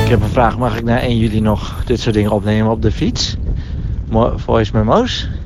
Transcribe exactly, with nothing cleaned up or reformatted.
Ik heb een vraag. Mag ik na één juli nog dit soort dingen opnemen op de fiets? Mo- Voice memo's?